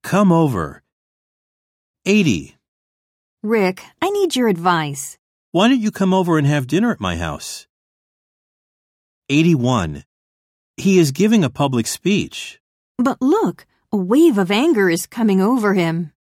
Come over. 80. Rick, I need your advice. Why don't you come over and have dinner at my house? 81. He is giving a public speech. But look, a wave of anger is coming over him.